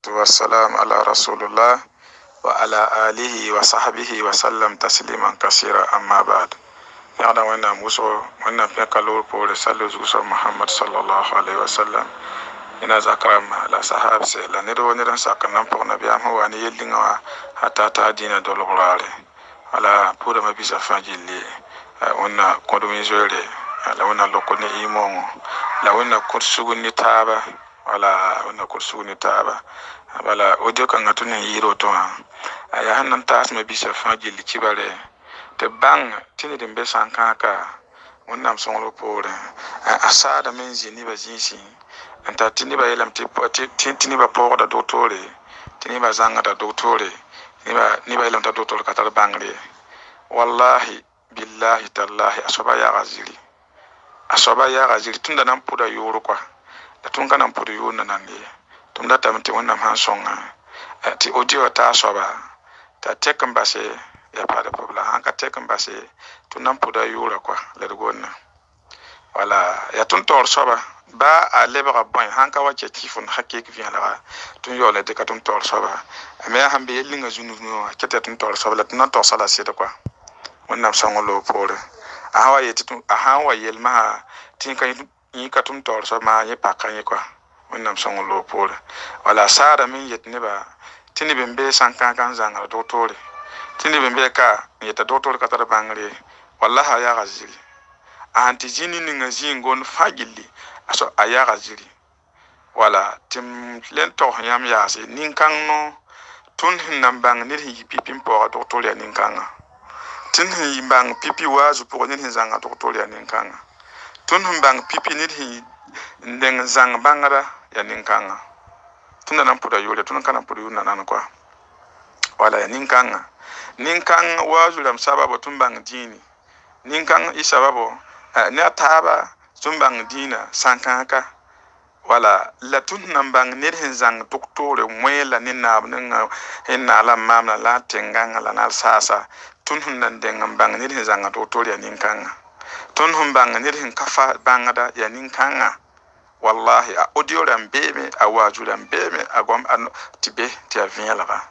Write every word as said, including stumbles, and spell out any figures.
والسلام على رسول الله وعلى آله وصحبه وسلم تسليما كثيرا أما بعد. يعلم وانا موسو وانا بيكالور بول سالو زوسو محمد صلى الله عليه وسلم ina zakram la sahab se la nedo ne ran sakana po na biam ho ani yelinga hata ta dina do lorale ala pura ma bisa fajili wana kodomi jore la wana lokone imon la wana kursugu ni taba wala wana kursugu ni taba wala odio kan atuna yiro to ya hanan tas ma bisa fajili kibare te bang tini de be sankaka wana msonglo pore asada menzi ni bazisi anta tini ba yelam ti tini ba po da doctore tini ba zanga da doctore ni ba ni ba yelam da doctore katar bangre wallahi billahi tallahi asoba ya gazili asoba ya gazili tunda nan puda yoro kwa da tun kana puda yoro nan ne tunda tamti wannan han songa ti audio ta asoba ta tekan base ya pada pobla hanka tekan base tun nan puda yoro kwa lergonna wala ya tun tor soba ba a lebra boy hanka wache tifun hakik vient là tun yo le de ka tun tor soba mais hambe yelinga junu no kete tun tor soba la tun tor sala sita kwa wannan sangolo pore a hawa yeti tun a hawa yelma tin kan yi ka tun tor soba ye pakan yi kwa wannan sangolo pore wala sara min yetne ba tini bembe sankan kan zanga doctore tini bembe ka yeta doctore ka tar bangre wallahi ya gazili anti jini ni ngazi ngon fagili aso ayaga ziri wala tim lento yam yasi ninkang no tun hinambang ni hi pipim po doctoria ninkanga tin hi bang pipi wazu po ni zanga doctoria ninkanga tun himbang pipi ni hi ndeng zang bangara ya ninkanga tun nan puda yole tun kana puda yuna nan kwa wala ya ninkanga ninkang wazu lam sababu tun bang dini ninkang isababo ne ataba sumbang dina sankaka wala la tun nambang nir hin zang doktore mwela ni nab ninga hinna la mamla la tenganga la nal sasa tun hun nan dengam bang nir hin zang doktore ya ninkanga tun hun bang nir hin kafa bangada ya ninkanga wallahi a audio ram bebe a waju ram bebe a gom an tibe ti aviala